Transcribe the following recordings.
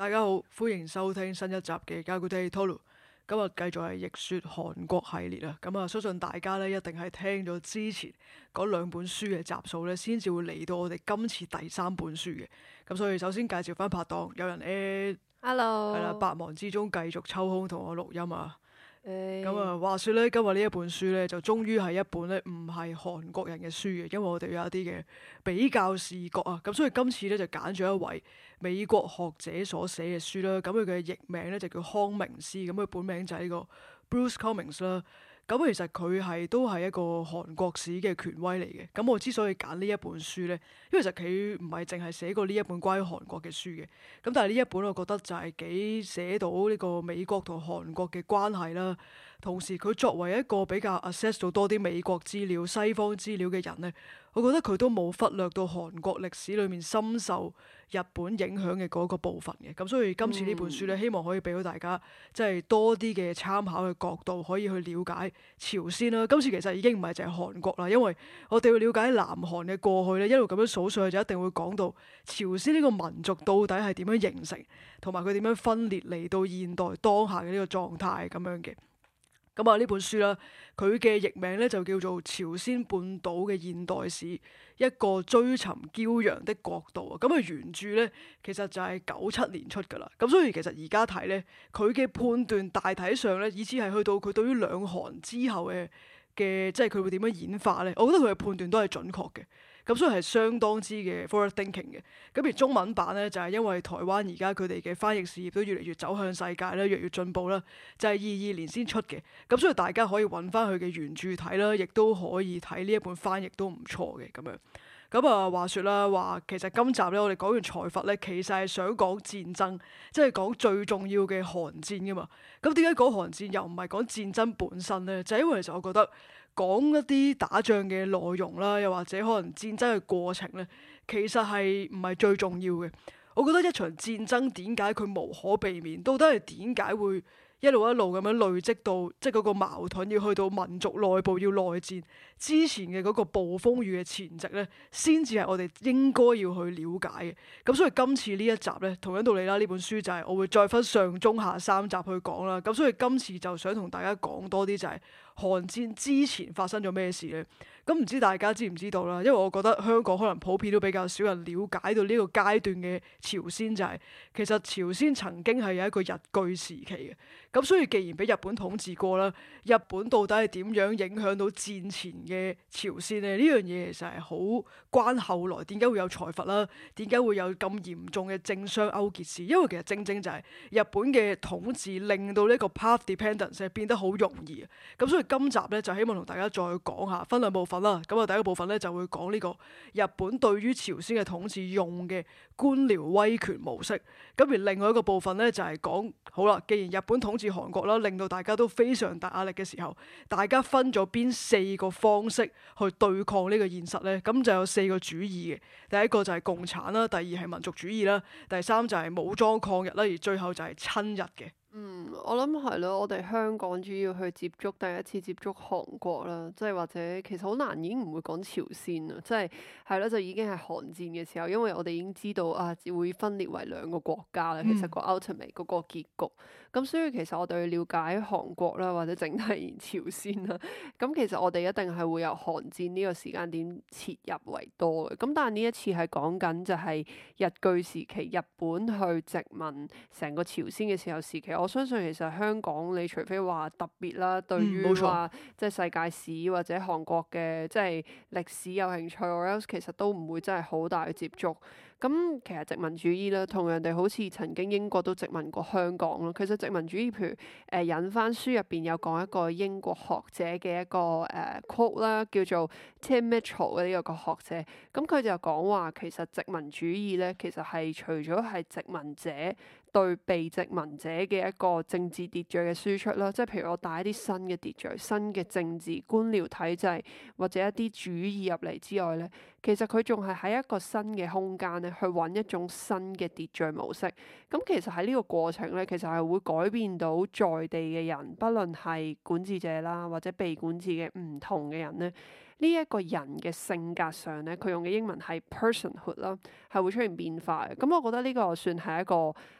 大家好，歡迎收聽新一集嘅《解句 Tolu》。今日繼續係逆說韓國系列啊，相信大家咧一定係聽咗之前嗰兩本書嘅集數咧，先至會嚟到我哋今次第三本書嘅。咁所以首先介紹翻拍檔，有人係啦， Hello， 百忙之中繼續抽空同我錄音啊。 誒， 話說咧，今日呢一本書咧，就終於係一本咧唔係韓國人嘅書嘅，因為我哋有一啲嘅比較視覺啊，咁所以今次咧就揀咗一位美國學者所寫嘅書啦。咁佢嘅譯名咧就叫康明斯，咁佢本名就係呢個 Bruce Cummings 啦。咁其實佢都係一個韓國史嘅權威嚟嘅。咁我之所以揀呢一本書咧，因為其實佢唔係淨係寫過呢一本關於韓國嘅書嘅。咁但係呢一本我覺得就係幾寫到呢個美國同韓國嘅關係啦。同時佢作為一個比較 access 到多啲美國資料、西方資料嘅人咧，我覺得佢都冇忽略到韓國歷史裏面深受日本影響嘅嗰個部分嘅。咁所以今次呢本書咧，希望可以俾到大家即係多啲嘅參考嘅角度，可以去了解朝鮮啦。今次其實已經唔係淨係韓國啦，因為我哋要了解南韓嘅過去咧，一路咁樣數上去就一定會講到朝鮮呢個民族到底係點樣形成，同埋佢點樣分裂嚟到現代當下嘅呢個狀態咁樣嘅。呢本書啦，佢嘅譯名咧就叫做《朝鮮半島嘅現代史：一個追尋驕陽的國度》啊。原著咧其實就係97年出㗎啦。咁所以其實而家睇咧，佢嘅判斷大體上咧，以至係去到佢對於兩韓之後嘅即係佢會點樣演化咧，我覺得佢嘅判斷都係準確嘅。咁所以係相當之嘅 forward thinking 嘅。咁而中文版咧就係因為台灣而家佢哋嘅翻譯事業都越嚟越走向世界啦，越嚟越進步啦，就係22年先出嘅。咁所以大家可以揾翻佢嘅原著睇啦，亦都可以睇呢一本翻譯都唔錯嘅咁樣。話說啦，話其實今集咧我哋講完財閥咧，其實係想講戰爭，即係講最重要嘅韓戰噶嘛。咁點解講韓戰又唔係講戰爭本身咧？就係因為其實我覺得講一啲打仗嘅內容啦，又或者可能戰爭嘅過程咧，其實係唔係最重要嘅。我覺得一場戰爭點解佢無可避免，到底係點解會一路一路咁樣累積到，即係嗰個矛盾要去到民族內部要內戰之前嘅嗰個暴風雨嘅前夕咧，先至係我哋應該要去了解嘅。咁所以今次呢一集咧，同樣道理啦，呢本書就係我會再分上中下三集去講啦。咁所以今次就想同大家講多啲就係韓戰之前發生咗咩事咧。咁唔知大家知唔知道啦？因為我覺得香港可能普遍都比較少人了解到呢個階段嘅朝鮮，就係其實朝鮮曾經係有一個日據時期嘅。咁所以既然俾日本統治過啦，日本到底係點樣影響到戰前嘅朝鮮呢？呢樣嘢其實係好關後來點解會有財閥啦，點解會有咁嚴重嘅政商勾結事？因為其實正正就係日本嘅統治令到呢個 path dependence 係變得好容易啊。咁所以今集咧就希望同大家再講下，分兩部分啦。第一個部分咧就會講呢個日本對於朝鮮嘅統治用嘅官僚威權模式。咁而另外一個部分咧就係講好啦，既然日本統治韓國啦，令到大家都非常大壓力嘅時候，大家分咗邊4個方式去對抗呢個現實咧？咁就有4個主義嘅。第一個就係共產啦，第二係民族主義啦，第三就係武裝抗日啦，而最後就係親日嘅。 我諗係咯，我哋香港主要去接觸第一次接觸韓國啦，即係或者其實好難已經唔會講朝鮮啦，即係咯，就已經係韓戰嘅時候，因為我哋已經知道啊會分裂為2個國家啦，其實個 ultimate 嗰個結局。咁所以其實我哋去了解韓國啦，或者整體朝鮮啦，咁其實我哋一定係會由韓戰呢個時間點切入為多嘅。咁但係呢一次係講緊就係日據時期，日本去殖民成個朝鮮嘅時期。我相信其實香港，你除非話特別啦，對於話即係世界史或者韓國嘅即係歷史有興趣，or else 其實都唔會真係好大嘅接觸。咁其實殖民主義啦，同樣地好似曾經英國都殖民過香港咯。其實殖民主義，譬如引翻書入邊有講一個英國學者嘅一個quote 啦，叫做 Tim Mitchell 嘅呢個學者。咁佢就講話其實殖民主義咧，其實係除咗係殖民者對被殖民者嘅一個政治秩序嘅輸出啦，即係譬如我帶一啲新嘅秩序、新嘅政治官僚體制或者一啲主義入嚟之外咧，其實佢仲係喺一個新嘅空間咧，去揾一種新嘅秩序模式。咁其實喺呢個過程咧，其實係會改變到在地嘅人，不論係管治者啦，或者被管治嘅唔同嘅人咧。呢一個人嘅性格上咧，佢用嘅英文係 personhood 啦，係會出現變化嘅。咁我覺得呢個算係一個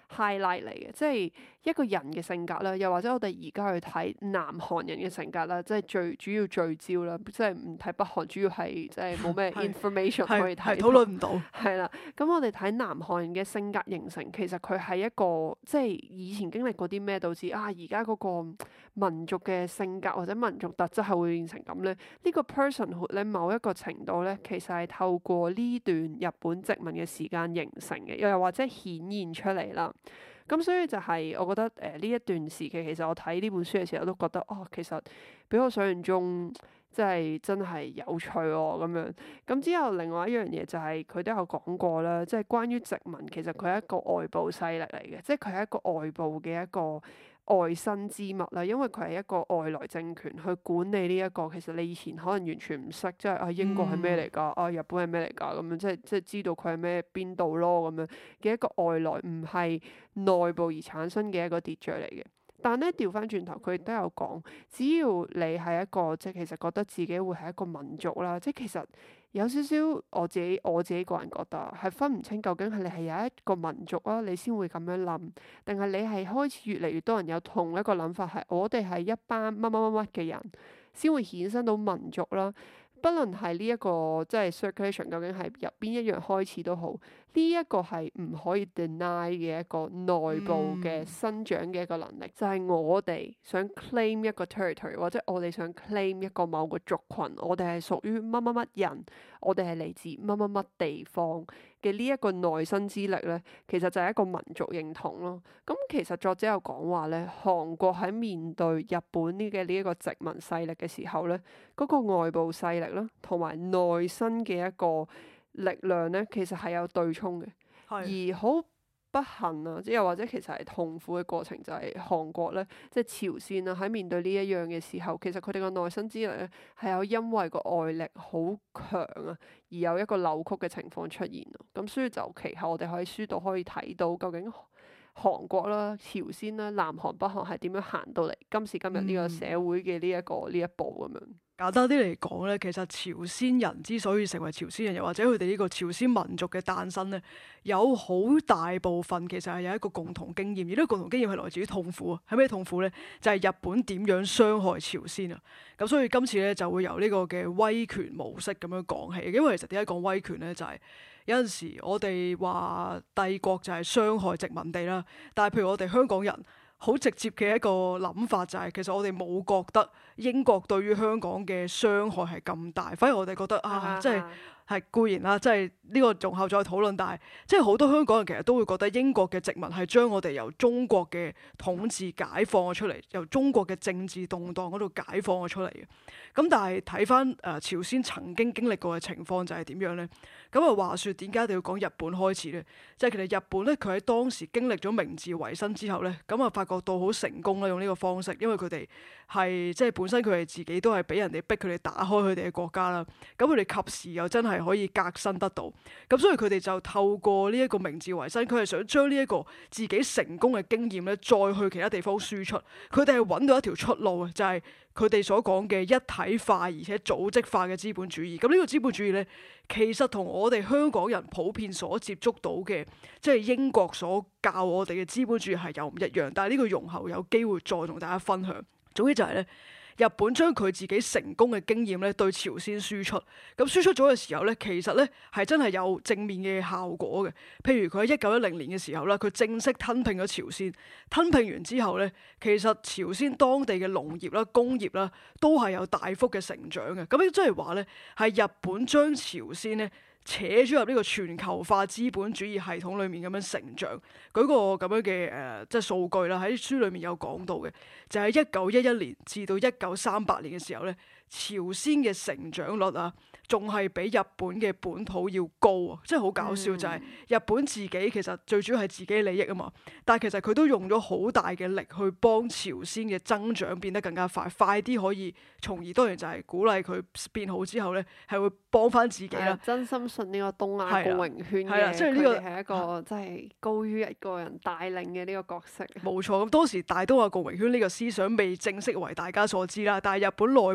highlight 嚟嘅，即係一個人嘅性格啦，又或者我哋而家去睇南韓人嘅性格啦，即係最主要聚焦啦，即係唔睇北韓，主要係即係冇咩 information 可以睇， 討論唔到。 係啦，咁我哋睇南韓人嘅性格形成，其實佢係一個即係以前經歷過啲咩導致啊而家嗰個民族嘅性格或者民族特質係會變成咁咧？呢個 personhood 咧某一個程度咧，其實係透過呢段日本殖民嘅時間形成嘅，又或者顯現出嚟啦。咁所以就係我覺得呢一段時期，其實我睇呢本書嘅時候都覺得其實比我想象中即係真係有趣喎咁樣。咁之後另外一樣嘢就係佢都有講過啦，即係關於殖民其實佢係一個外部勢力嚟嘅，即係佢係一個外部嘅一個外生之物啦，因為佢係一個外來政權去管理呢一個，其實你以前可能完全唔識，即係英國係咩嚟㗎？日本係咩嚟㗎？咁樣即係知道佢係咩邊度咯咁樣嘅一個外來，唔係內部而產生嘅一個秩序嚟嘅。但咧調翻轉頭，佢亦都有講，只要你係一個即係其實覺得自己會係一個民族啦，即係其實有少少我自己個人覺得係分唔清究竟係你係有一個民族啊，你先會咁樣諗，定係你係開始越嚟越多人有同一個諗法，係我哋係一班乜乜乜乜嘅人先會衍生到民族啦。不論係呢一個即係 circulation 究竟係由邊一樣開始都好，呢一個係唔可以 deny 嘅一個內部嘅生長嘅一個能力，就係我哋想 claim 一個 territory， 或者我哋想 claim 一個某個族群，我哋係屬於乜乜乜人，我哋係嚟自乜乜乜地方嘅呢一個內生之力咧，其實就係一個民族認同咯。咁其實作者有講話咧，韓國喺面對日本呢一個殖民勢力嘅時候咧，嗰個外部勢力啦，同埋內生嘅一個力量咧，其實係有對沖嘅。而好不幸啊，即又或者其實係痛苦嘅過程，就係韓國咧，即係朝鮮啊，喺面對呢一樣嘅時候，其實佢哋個內生之力咧係有因為個外力好強啊，而有一個扭曲嘅情況出現咯。咁所以就其後我哋喺書度可以睇到究竟韓國啦、朝鮮啦、南韓、北韓係點樣行到嚟今時今日呢個社會嘅呢一步咁樣。 簡單啲嚟講咧，其實朝鮮人之所以成為朝鮮人，又或者佢哋呢個朝鮮民族嘅誕生咧，有好大部分其實係有一個共同經驗，而呢個共同經驗係來自於痛苦啊。係咩痛苦咧？就係日本點樣傷害朝鮮啊！咁所以今次咧就會由呢個嘅威權模式咁樣講起。因為其實點解講威權咧？就係有陣時我哋話帝國就係傷害殖民地啦，但係譬如我哋香港人，好直接嘅一個諗法就係，其實我哋冇覺得英國對於香港嘅傷害係咁大，反而我哋覺得即係固然啦，即係呢個容後再討論，但係即係好多香港人其實都會覺得英國嘅殖民係將我哋由中國嘅統治解放咗出嚟，由中國嘅政治動盪嗰度解放咗出嚟嘅。咁但係睇翻朝鮮曾經經歷過嘅情況就係點樣咧？咁話說點解一定要講日本開始咧？即係其實日本咧，佢喺當時經歷咗明治維新之後咧，咁發覺到好成功啦，用呢個方式，因為佢哋係即係本身佢哋自己都係俾人哋逼佢哋打開佢哋嘅國家啦。咁佢哋及時又真係可以革新得到，咁所以佢哋就透過呢一個明治維新，佢係想將呢一個自己成功嘅經驗咧，再去其他地方輸出。佢哋係揾到一條出路啊，就係佢哋所講嘅一體化而且組織化嘅資本主義。咁呢個資本主義咧，其實同我哋香港人普遍所接觸到嘅，即係英國所教我哋嘅資本主義係有唔一樣。但係呢個容後有機會再同大家分享。總之就係咧，日本將佢自己成功嘅經驗咧對朝鮮輸出，咁輸出咗嘅時候咧，其實咧係真係有正面嘅效果嘅。譬如佢喺1910年嘅時候啦，佢正式吞併咗朝鮮，吞併完之後咧，其實朝鮮當地嘅農業啦、工業啦都係有大幅嘅成長嘅。咁即係話咧，係日本將朝鮮咧扯咗入呢個全球化資本主義系統裏面咁樣成長。舉個咁樣嘅即係數據啦，喺書裏面有講到嘅，就係1911年至到1938年嘅時候咧，朝鮮嘅成長率啊，仲係比日本嘅本土要高啊！即係好搞笑，就係日本自己其實最主要係自己利益啊嘛，但係其實佢都用咗好大嘅力去幫朝鮮嘅增長變得更加快，快啲可以，從而當然就係鼓勵佢變好之後咧，係會幫翻自己啦。 真心信呢個東亞共榮圈嘅， 即係呢個係一個真係高於一個人帶領嘅呢個角色。 冇錯，咁當時大東亞共榮圈呢個思想未正式為大家所知啦，但係日本內部已經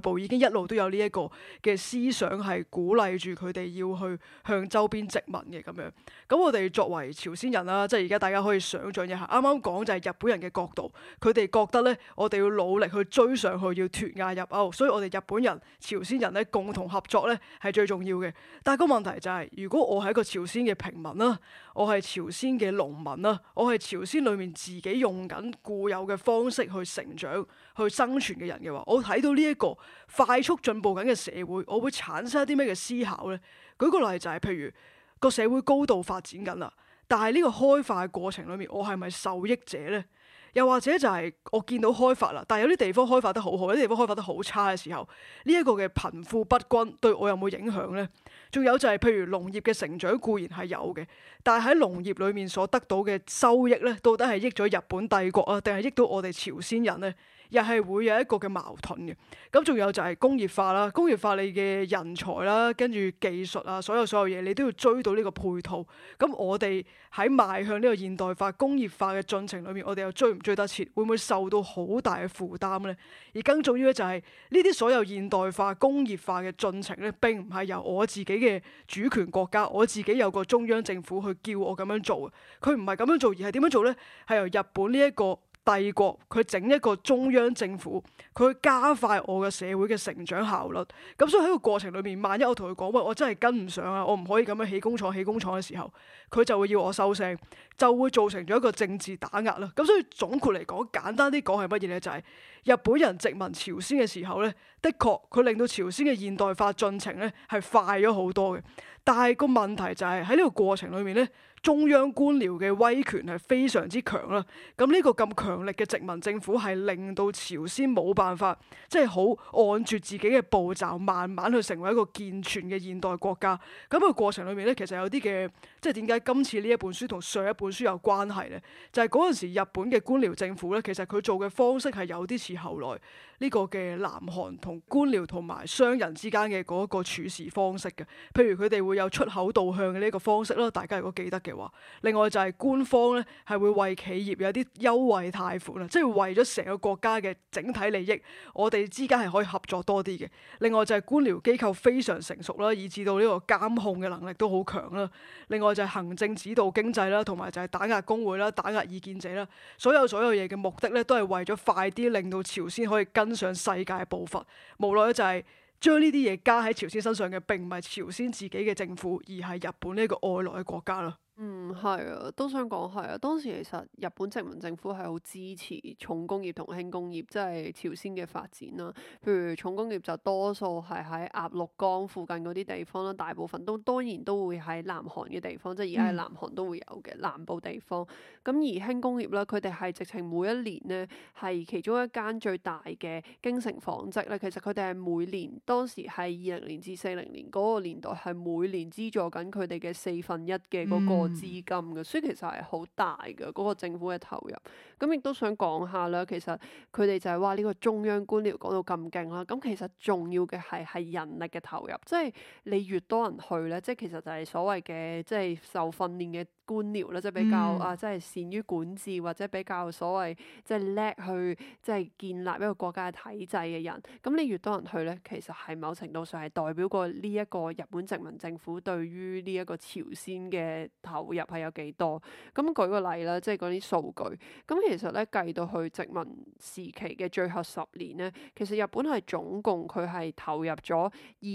一路都有呢一個嘅思想係鼓勵住佢哋要去向周邊殖民嘅咁樣。咁我哋作為朝鮮人啦，即係而家大家可以想像一下，啱啱講就係日本人嘅角度，佢哋覺得咧，我哋要努力去追上去，要脫亞入歐，所以我哋日本人、朝鮮人咧共同合作咧係最重要嘅。但係個問題就係，如果我係一個朝鮮嘅平民啦，我係朝鮮嘅農民啦，我係朝鮮裡面自己用緊固有嘅方式去成長、去生存嘅人嘅話，我睇到呢一個快速進步緊嘅社會，我會產生一啲咩嘅思考呢？舉個例就係，譬如個社會高度發展緊啦，但係呢個開發嘅過程裡面，我係咪受益者呢？又或者就係我見到開發啦，但係有啲地方開發得好好，有啲地方開發得好差嘅時候，呢一個嘅貧富不均對我有冇影響呢？仲有就係譬如農業嘅成長固然係有嘅，但係喺農業裡面所得到嘅收益呢，到底係益咗日本帝國啊，定係益到我哋朝鮮人呢？又係會有一個嘅矛盾嘅。咁仲有就係工業化啦，工業化你嘅人才啦，跟住技術啊，所有嘢你都要追到呢個配套。咁我哋喺邁向呢個現代化、工業化嘅進程裏面，我哋又追唔追得切？會唔會受到好大嘅負擔呢？而更重要嘅就係呢啲所有現代化、工業化嘅進程咧，並唔係由我自己嘅主權國家，我自己有個中央政府去叫我咁樣做嘅。佢唔係咁樣做，而係點樣做呢？係由日本呢一個帝國佢整一個中央政府，佢加快我嘅社會嘅成長效率。咁所以喺個過程裏面，萬一我同佢講喂，我真係跟唔上啊，我唔可以咁樣起工廠嘅時候，佢就會要我收聲，就會造成咗一個政治打壓啦。咁所以總括嚟講，簡單啲講係乜嘢呢？就係日本人殖民朝鮮嘅時候呢，的確佢令到朝鮮嘅現代化進程呢係快咗好多嘅。但係個問題就係喺呢個過程裏面呢，中央官僚嘅威權係非常之強啦。咁呢個咁強力嘅殖民政府係令到朝鮮冇辦法，即係好按住自己嘅步驟，慢慢去成為一個健全嘅現代國家。咁個過程裏面呢，其實有啲嘅，即係點解今次呢一本書同上一本書有關係呢？就係嗰陣時日本嘅官僚政府呢，其實佢做嘅方式係有啲似後來呢個嘅南韓同官僚同埋商人之間嘅嗰個處事方式嘅。譬如佢哋會有出口導向嘅呢個方式啦，大家如果記得嘅話。另外就係官方咧係會為企業有啲優惠貸款啊，即係為咗成個國家嘅整體利益，我哋之間係可以合作多啲嘅。另外就係官僚機構非常成熟啦，以至到呢個監控嘅能力都好強啦。另外就係行政指導經濟啦，同埋就係打壓工會啦、打壓異見者啦。所有嘢嘅目的咧，都係為咗快啲令到朝鮮可以跟上世界嘅步伐。無奈就係將呢啲嘢加喺朝鮮身上嘅，並唔係朝鮮自己嘅政府，而係日本呢個外來嘅國家啦。 係啊，都想講係啊。當時其實日本殖民政府係好支持重工業同輕工業，即係朝鮮嘅發展啦。譬如重工業就多數係喺鴨綠江附近嗰啲地方啦，大部分都當然都會喺南韓嘅地方，即係而家喺南韓都會有嘅南部地方。咁而輕工業咧，佢哋係直情每一年呢，係其中一間最大嘅京成紡織咧。其實佢哋係每年當時係2000年至40年嗰個年代係每年資助緊佢哋嘅1/4嘅嗰個資金嘅，所以其實係好大嘅嗰個政府嘅投入。咁亦都想講下啦，其實佢哋就係話呢個中央官僚講到咁勁啦，咁其實重要嘅係人力嘅投入，即係你越多人去咧，即係其實就係所謂嘅即係受訓練嘅官僚啦，即係比較即係善於管治或者比較所謂即係叻去即係建立一個國家嘅體制嘅人。咁你越多人去咧，其實係某程度上係代表過呢一個日本殖民政府對於呢一個朝鮮嘅投入係有幾多。咁舉個例啦，即係嗰啲數據。咁其實咧計到去殖民時期嘅最後10年咧，其實日本係總共佢係投入咗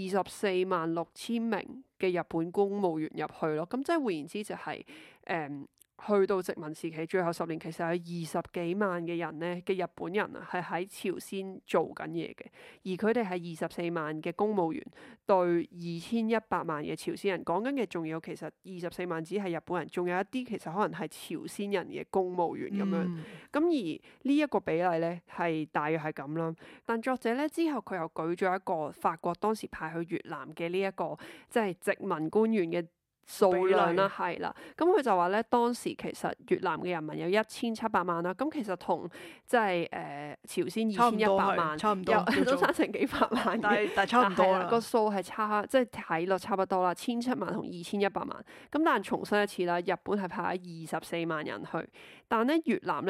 246000名嘅日本公務員入去咯。咁即係換言之就係去到殖民時期最後10年，其實有20幾萬嘅人咧嘅日本人啊，係喺朝鮮做緊嘢嘅，而佢哋係24萬嘅公務員對2100萬嘅朝鮮人。講緊嘅仲有其實24萬只係日本人，仲有一啲其實可能係朝鮮人嘅公務員咁樣。咁而呢一個比例咧係大約係咁啦。但作者咧之後佢又舉咗一個法國當時派去越南嘅呢一個即係殖民官員嘅數量啦，係啦，咁佢就話咧，當時其實越南嘅人民有1700萬啦，咁其實同即係朝鮮2100萬， 差唔多， 都差成幾百萬嘅， 但係差唔多啦。 個數係差，即係睇落差不多啦，1700萬同2100萬。咁但係重申一次啦，日本係派咗24萬人去，但咧越南咧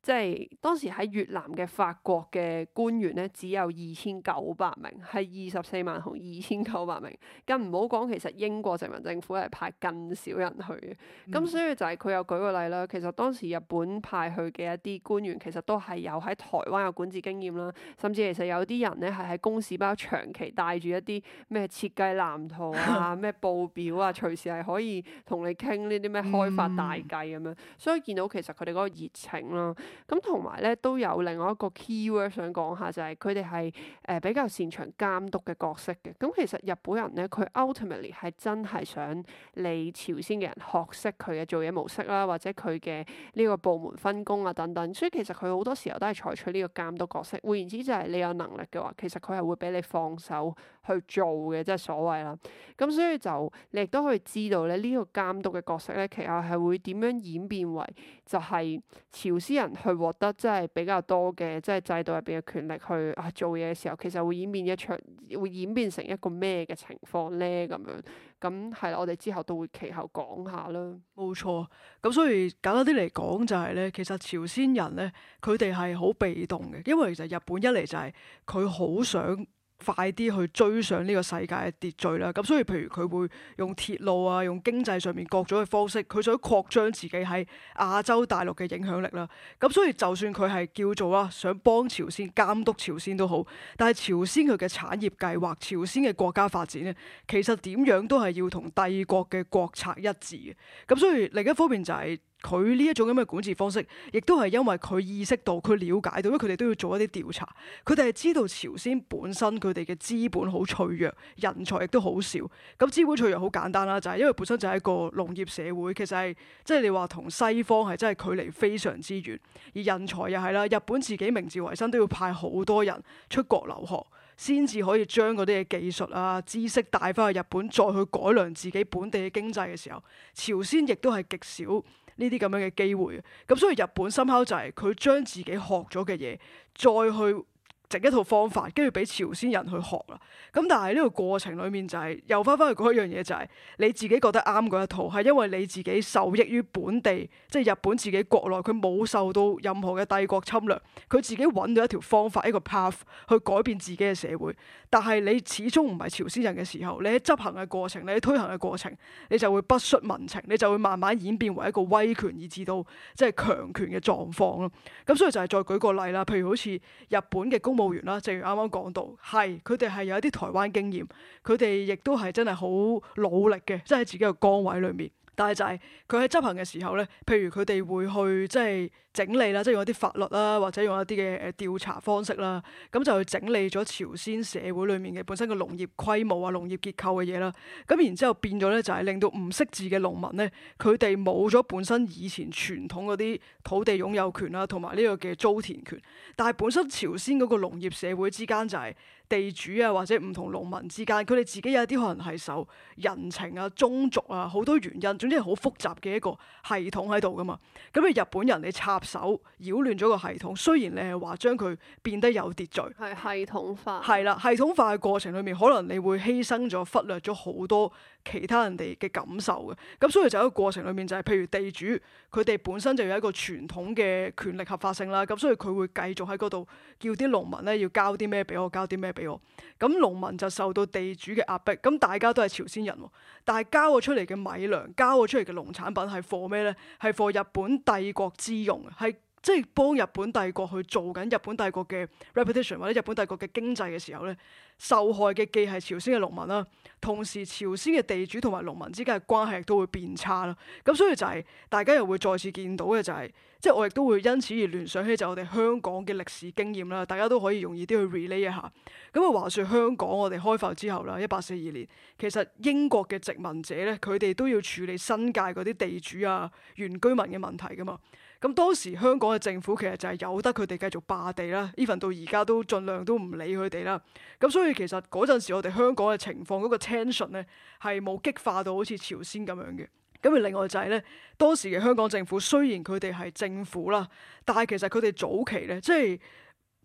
即係當時喺越南嘅法國嘅官員咧，只有2900名，係24萬同2900名。更唔好講，其實英國殖民政府係派更少人去嘅。咁所以就係佢有舉個例啦。其實當時日本派去嘅一啲官員，其實都係有喺台灣有管治經驗啦，甚至其實有啲人咧係喺公事包長期帶住一啲咩設計藍圖啊、咩報表啊，隨時係可以同你傾呢啲咩開發大計咁樣。所以見到其實佢哋嗰個熱情啦。咁同埋咧都有另外一個 keyword 想講下，就係佢哋係比較擅長監督嘅角色嘅。咁其實日本人咧，佢 ultimately 係真係想你朝鮮嘅人學識佢嘅做嘢模式啦，或者佢嘅呢個部門分工啊等等。所以其實佢好多時候都係採取呢個監督角色。換言之，就係你有能力嘅話，其實佢係會俾你放手去做嘅，即係所謂啦。咁所以就你亦都可以知道咧，呢個監督嘅角色咧，其實係會點樣演變為就係朝鮮人去獲得即係比較多嘅即係制度入邊嘅權力去做嘢嘅時候，其實會演變成一個咩嘅情況咧？咁樣咁係啦，我哋之後都會其後講下啦。 冇錯，咁所以簡單啲嚟講就係咧，其實朝鮮人咧，佢哋係好被動嘅，因為其實日本一嚟就係佢好想快啲去追上呢個世界嘅秩序啦，咁所以譬如佢會用鐵路啊，用經濟上面各種嘅方式，佢想擴張自己喺亞洲大陸嘅影響力啦。咁所以就算佢係叫做想幫朝鮮監督朝鮮都好，但係朝鮮佢嘅產業計劃、朝鮮嘅國家發展咧，其實點樣都係要同帝國嘅國策一致嘅。咁所以另一方面就係佢呢一種咁嘅管治方式，亦都係因為佢意識到、佢了解到，因為佢哋都要做一啲調查，佢哋係知道朝鮮本身佢哋嘅資本好脆弱，人才亦都好少。咁資本脆弱好簡單啦，就係因為本身就係一個農業社會，其實係即係你話同西方係真係距離非常之遠，而人才又係啦，日本自己明治維新都要派好多人出國留學，先至可以將嗰啲嘅技術啊、知識帶翻去日本，再去改良自己本地嘅經濟嘅時候，朝鮮亦都係極少呢啲咁樣嘅機會嘅。咁所以日本深刻就係佢將自己學咗嘅嘢再去整一套方法，跟住俾朝鮮人去學啦。咁但係呢個過程裡面就係又翻返去嗰一樣嘢，就係你自己覺得啱嗰一套，係因為你自己受益於本地，即係日本自己國內，佢冇受到任何嘅帝國侵略，佢自己揾到一條方法，一個 path 去改變自己嘅社會。但係你始終唔係朝鮮人嘅時候，你喺執行嘅過程，你喺推行嘅過程，你就會不恤民情，你就會慢慢演變為一個威權，以至到即係強權嘅狀況咯。咁所以就係再舉個例啦，譬如好似日本嘅公務員啦，正如啱啱講到，係佢哋係有一啲台灣經驗，佢哋亦都係真係好努力嘅，即係喺自己嘅崗位裏面。但係就係佢喺執行嘅時候咧，譬如佢哋會去即係整理啦，即係用一啲法律啦，或者用一啲嘅調查方式啦，咁就去整理咗朝鮮社會裏面嘅本身嘅農業規模啊、農業結構嘅嘢啦。咁然之後變咗咧，就係令到唔識字嘅農民咧，佢哋冇咗本身以前傳統嗰啲土地擁有權啦，同埋呢個嘅租田權。但係本身朝鮮嗰個農業社會之間就係地主啊，或者唔同農民之間，佢哋自己有啲可能係受人情啊、宗族啊好多原因，總之係好複雜嘅一個系統喺度噶嘛。咁你日本人你插手擾亂咗個系統，雖然你係話將佢變得有秩序， 係系統化， 係啦，系統化嘅過程裏面，可能你會犧牲咗、忽略咗好多其他人哋嘅感受嘅。咁所以就喺個過程裏面就係，譬如地主佢哋本身就有一個傳統嘅權力合法性啦，咁所以佢會繼續喺嗰度叫啲農民咧要交啲咩俾我，交啲咩俾我。咁農民就受到地主嘅壓迫，咁大家都係朝鮮人喎，但係交咗出嚟嘅米糧、交咗出嚟嘅農產品係貨咩咧？係貨日本帝國之用，係即係幫日本帝國去做緊日本帝國嘅 reputation 或者日本帝國嘅經濟嘅時候咧，受害嘅既係朝鮮嘅農民啦，同時朝鮮嘅地主同埋農民之間嘅關係亦都會變差啦。咁所以就係大家又會再次見到嘅就係，即係我亦都會因此而聯想起就我哋香港嘅歷史經驗啦，大家都可以容易啲去 relate 一下。咁啊話說香港我哋開埠之後啦，1842年，其實英國嘅殖民者咧，佢哋都要處理新界嗰啲地主啊、原居民嘅問題噶嘛。咁當時香港嘅政府其實就係由得佢哋繼續霸地啦，even 到而家都盡量都唔理佢哋啦。咁所以其實嗰陣時我哋香港嘅情況嗰個 tension 咧係冇激化到好似朝鮮咁樣嘅。咁而另外就係咧，當時嘅香港政府雖然佢哋係政府啦，但係其實佢哋早期咧即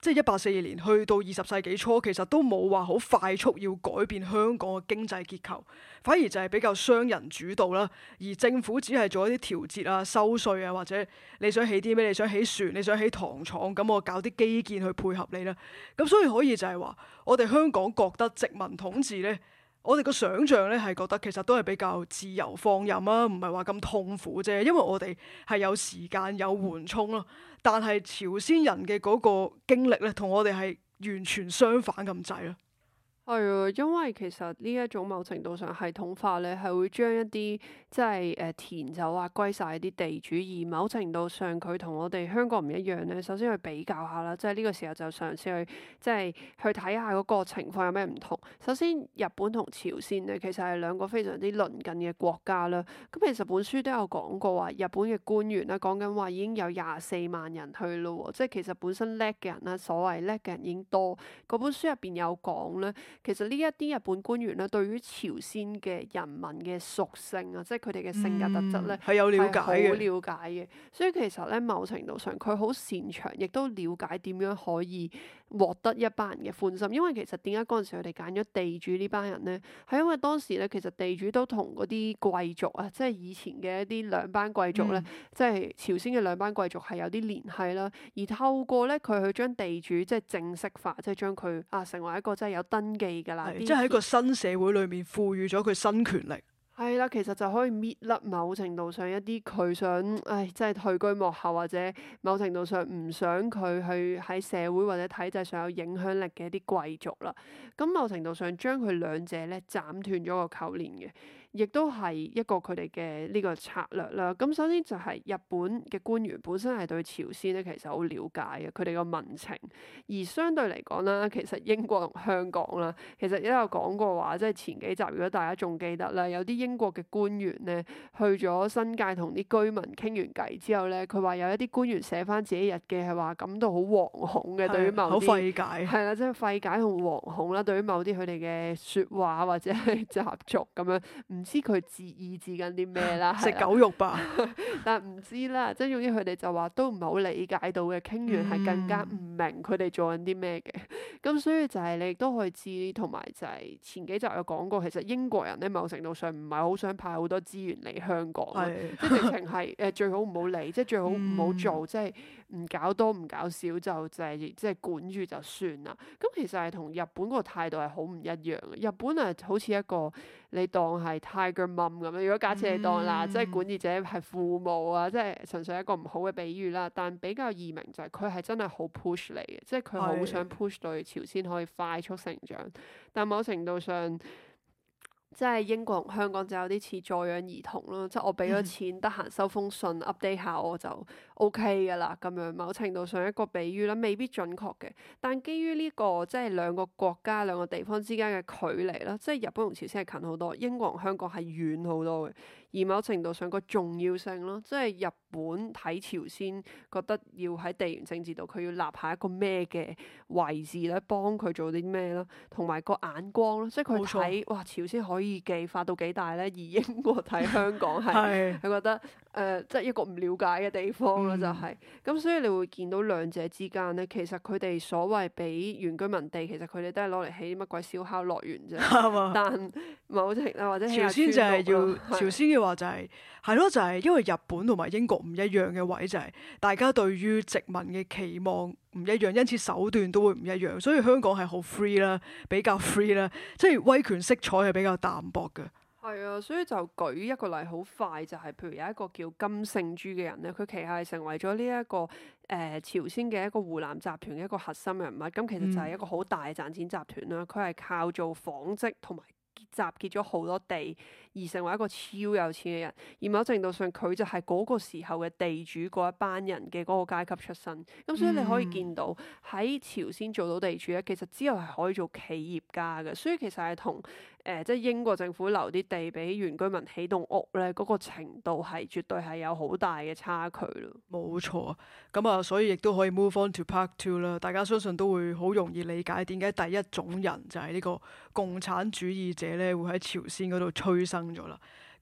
即係1842年去到20世紀初，其實都冇話好快速要改變香港嘅經濟結構，反而就係比較商人主導啦。而政府只係做一啲調節啊、收稅啊，或者你想起啲咩，你想起船，你想起糖廠，咁我搞啲基建去配合你啦。咁所以可以就係話，我哋香港覺得殖民統治呢。我哋個想像咧係覺得其實都係比較自由放任啊，唔係話咁痛苦啫。因為我哋係有時間有緩衝咯，但係朝鮮人嘅嗰個經歷咧，同我哋係完全相反咁滯咯。 係啊，因為其實呢一種某程度上系統化咧，係會將一啲即係田就劃歸晒啲地主，而某程度上佢同我哋香港唔一樣咧。首先去比較下啦，即係呢個時候就嘗試去即係去睇下嗰個情況有咩唔同。首先，日本同朝鮮咧，其實係兩個非常之鄰近嘅國家啦。咁其實本書都有講過話，日本嘅官員啦，講緊話已經有24萬人去咯喎，即係其實本身叻嘅人啦，所謂叻嘅人已經多。嗰本書入邊有講咧。其實呢一啲日本官員咧，對於朝鮮嘅人民嘅屬性啊，即係佢哋嘅性格特質咧， 係有了解好嘅。 了解嘅。所以其實咧，某程度上佢好擅長，亦都了解點樣可以獲得一班人嘅歡心。因為其實點解嗰陣時佢哋揀咗地主呢班人咧，係因為當時咧，其實地主都同嗰啲貴族啊，即係以前嘅一啲兩班貴族咧，即係朝鮮嘅兩班貴族係有啲聯繫啦。而透過咧佢去將地主即係正式化，即係將佢成為一個即係有登記㗎啦， 即係喺個新社會裏面賦予咗佢新權力。 係啦，其實就可以搣甩某程度上一啲佢想，即係退居幕後或者某程度上唔想佢去喺社會或者體制上有影響力嘅一啲貴族啦。咁某程度上將佢兩者咧斬斷咗個扣連嘅。亦都係一個佢哋嘅呢個策略啦。咁首先就係日本嘅官員本身係對朝鮮咧其實好了解嘅，佢哋個民情。而相對嚟講啦，其實英國同香港啦，其實都有講過話，即係前幾集如果大家仲記得啦，有啲英國嘅官員咧去咗新界同啲居民傾完偈之後咧，佢話有一啲官員寫翻自己日記係話感到好惶恐嘅，對於某啲好費解。 係啦，即係費解同惶恐啦，對於某啲佢哋嘅説話或者係習俗咁樣，唔知佢意指緊啲咩啦， 食狗肉吧？ 但唔知啦，即係總之佢哋就話都唔係好理解到嘅，傾完係更加唔明佢哋做緊啲咩嘅。咁所以就係你亦都可以知，同埋就係前幾集有講過，其實英國人咧某程度上唔係好想派好多資源嚟香港，即係直情係最好唔好理，即係最好唔好做，即係唔搞多唔搞少就係即係管住就算啦。咁其實係同日本個態度係好唔一樣嘅。日本好似一個你當係 Tiger Mum 咁樣，如果假設你當啦，即係管治者係父母啊，即係純粹一個唔好嘅比喻啦。但比較易明就係佢係真係好 push 你嘅，即係佢好想 push 到朝鮮可以快速成長。但某程度上，即係英國同香港就有啲似助養兒童咯，即係我俾咗錢，得閒收封信 update 下我就 OK 噶啦咁樣。某程度上一個比喻啦，未必準確嘅，但基於呢個即係兩個國家兩個地方之間嘅距離啦，即係日本同朝鮮係近好多，英國同香港係遠好多嘅。而某程度上個重要性咯，即係日本睇朝鮮覺得要喺地緣政治度佢要立下一個咩嘅位置咧，幫佢做啲咩咯，同埋個眼光咯，即係佢睇哇朝鮮可以技發到幾大咧，而英國睇香港係佢覺得即係一個唔了解嘅地方咯，就係咁，所以你會見到兩者之間咧，其實佢哋所謂俾原居民地，其實佢哋都係攞嚟起乜鬼燒烤樂園啫，但某程度或者朝鮮就係要朝鮮嘅話就係咯，就係因為日本同埋英國唔一樣嘅位就係大家對於殖民嘅期望唔一樣，因此手段都會唔一樣，所以香港係好 free 啦，比較 free 啦，即係威權色彩係比較淡薄嘅。 係啊，所以就舉一個例好快，就係譬如有一個叫金聖珠嘅人咧，佢旗下係成為咗呢一個朝鮮嘅一個湖南集團嘅一個核心人物，咁其實就係一個好大嘅賺錢集團啦。佢係靠做紡織同埋集結咗好多地而成為一個超有錢嘅人，而某程度上佢就係嗰個時候嘅地主嗰一班人嘅嗰個階級出身。咁所以你可以見到喺朝鮮做到地主咧，其實之後係可以做企業家嘅。所以其實係同即係英國政府留啲地俾原居民起棟屋咧，嗰個程度係絕對係有好大嘅差距咯。 冇錯啊，咁啊，所以亦都可以 move on to part two 啦。大家相信都會好容易理解點解第一種人就係呢個共產主義者咧，會喺朝鮮嗰度催生咗啦。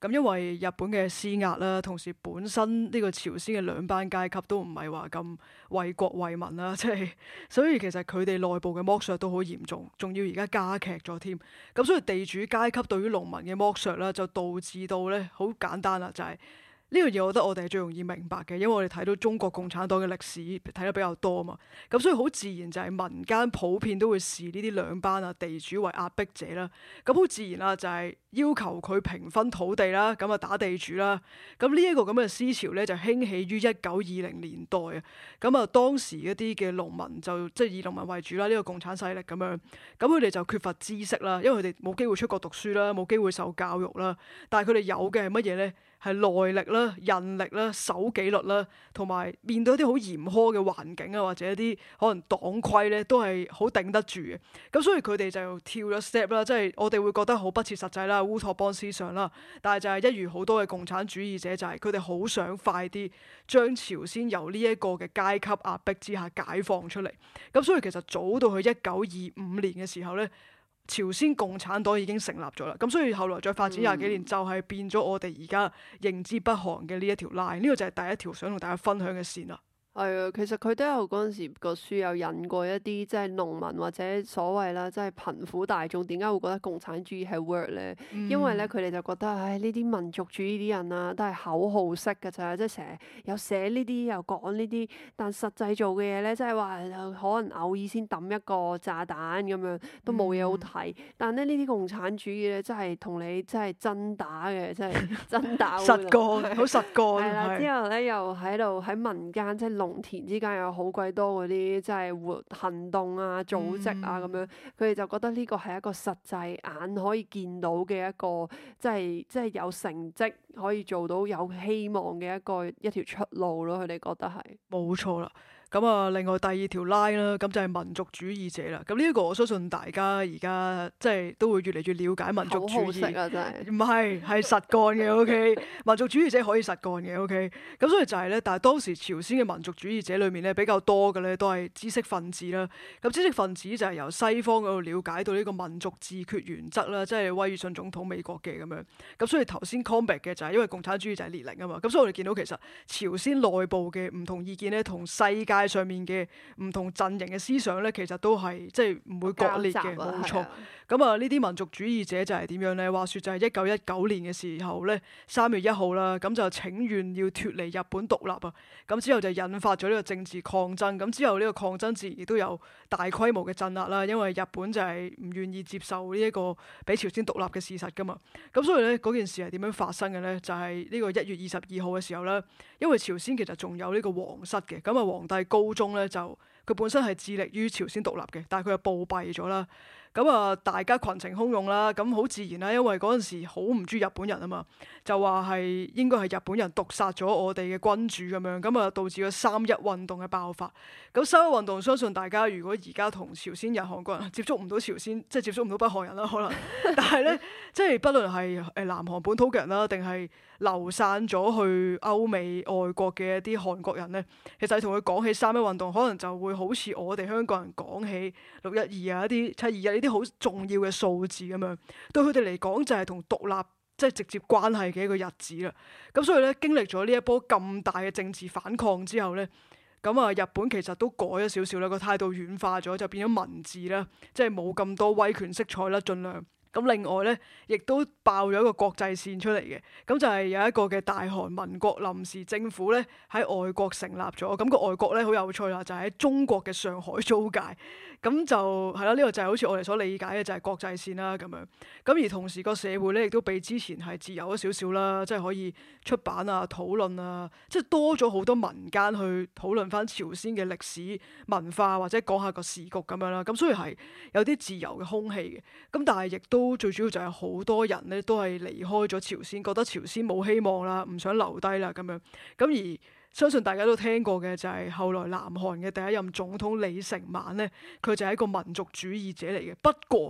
咁因為日本嘅施壓啦，同時本身呢個朝鮮嘅兩班階級都唔係話咁為國為民啦，即係所以其實佢哋內部嘅剝削都好嚴重，仲要而家加劇咗添。咁所以地主階級對於農民嘅剝削啦，就導致到咧好簡單啦，就係呢樣嘢，我覺得我哋係最容易明白嘅，因為我哋睇到中國共產黨嘅歷史睇得比較多啊嘛，咁所以好自然就係民間普遍都會視呢啲兩班啊地主為壓迫者啦，咁好自然啦就係要求佢平分土地啦，咁啊打地主啦，咁呢一個咁嘅思潮咧就興起於1920年代啊，咁啊當時一啲嘅農民就即係以農民為主啦，呢個共產勢力咁樣，咁佢哋就缺乏知識啦，因為佢哋冇機會出國讀書啦，冇機會受教育啦，但係佢哋有嘅係乜嘢咧？係耐力啦、韌力啦、守紀律啦，同埋面對一啲好嚴苛嘅環境啊，或者一啲可能黨規咧，都係好頂得住嘅。咁所以佢哋就跳咗 step 啦，即係我哋會覺得好不切實際啦、烏托邦思想啦。但係就係一如好多嘅共產主義者，就係佢哋好想快啲將朝鮮由呢一個嘅階級壓迫之下解放出嚟。咁所以其實早到去1925年嘅時候咧，朝鮮共產黨已經成立咗啦，咁所以後來再發展廿幾年，就係變咗我哋而家認知北韓嘅呢一條 line，呢個就係第一條想同大家分享嘅線啦。 係啊，其實佢都有嗰陣時個書有引過一啲即係農民或者所謂啦，即係貧苦大眾點解會覺得共產主義係 work 咧？因為咧佢哋就覺得唉呢啲民族主義啲人啊都係口號式㗎咋，即係成日又寫呢啲又講呢啲，但實際做嘅嘢咧，即係話可能偶爾先抌一個炸彈咁樣都冇嘢好睇。但咧呢啲共產主義咧，真係同你真係真打嘅，真係真打實幹，好實幹。 係啦， 係之後咧又喺度喺民間即係農田之間有好鬼多嗰啲即係活行動啊、組織啊咁樣，佢哋就覺得呢個係一個實際眼可以見到嘅一個，即係有成績可以做到有希望嘅一條出路咯。佢哋覺得係冇錯啦。咁啊，另外第二條 line 啦，咁就係民族主義者啦。咁呢一個我相信大家而家即係都會越嚟越了解民族主義。 口號式啊，真係唔係，係實幹嘅。OK，民族主義者可以實幹嘅。OK，咁所以就係咧，但係當時朝鮮嘅民族主義者裏面咧比較多嘅咧都係知識分子啦。咁知識分子就係由西方嗰度了解到呢個民族自決原則啦，即係威爾遜總統美國嘅咁樣。咁所以頭先 combat 嘅就係因為共產主義就係列寧啊嘛。咁所以我哋見到其實朝鮮內部嘅唔同意見咧，同世界上面嘅唔同陣營嘅思想咧，其實都係即係唔會割裂嘅，冇錯。咁啊，呢啲民族主義者就係點樣咧？話說就係1919年嘅時候咧，3月1號啦，咁就請願要脫離日本獨立啊。咁之後就引發咗呢個政治抗爭。咁之後呢個抗爭自然亦都有大規模嘅鎮壓啦，因為日本就係唔願意接受呢一個俾朝鮮獨立嘅事實噶嘛。咁所以咧嗰件事係點樣發生嘅咧？就係呢個1月22號嘅時候咧，因為朝鮮其實仲有呢個皇室嘅，咁啊皇帝高宗咧就佢本身係致力於朝鮮獨立嘅，但係佢又暴斃咗啦。咁啊，大家群情洶湧啦，咁好自然啦，因為嗰陣時好唔中意日本人啊嘛，就話係應該係日本人毒殺咗我哋嘅君主咁樣，咁啊導致咗3·1運動嘅爆發。咁3·1運動，相信大家如果而家同朝鮮人、韓國人接觸唔到朝鮮，即係接觸唔到北韓人啦，可能，但係咧，即係不論係南韓本土嘅人啦，定係流散咗去歐美外國嘅一啲韓國人咧，其實同佢講起3·1運動，可能就會好似我哋香港人講起6·12啊、一啲7·21呢啲好重要嘅數字咁樣，對佢哋嚟講就係同獨立即係直接關係嘅一個日子啦。咁所以咧，經歷咗呢一波咁大嘅政治反抗之後咧，咁啊日本其實都改咗少少啦，個態度軟化咗，就變咗文字啦，即係冇咁多威權色彩啦，盡量。咁另外咧，亦都爆咗一個國際線出嚟嘅，咁就係有一個嘅大韓民國臨時政府咧喺外國成立咗，咁個外國咧好有趣啦，就係喺中國嘅上海租界，咁就係啦，呢個就係好似我哋所理解嘅就係國際線啦咁樣。咁而同時個社會咧亦都比之前係自由咗少少啦，即係可以出版啊、討論啊，即係多咗好多民間去討論翻朝鮮嘅歷史文化或者講下個時局咁樣啦。咁所以係有啲自由嘅空氣嘅，咁但係亦都最主要就係好多人咧都係離開咗朝鮮，覺得朝鮮冇希望啦，唔想留低啦咁樣。咁而相信大家都聽過嘅就係後來南韓嘅第一任總統李承晚咧，佢就係一個民族主義者嚟嘅。不過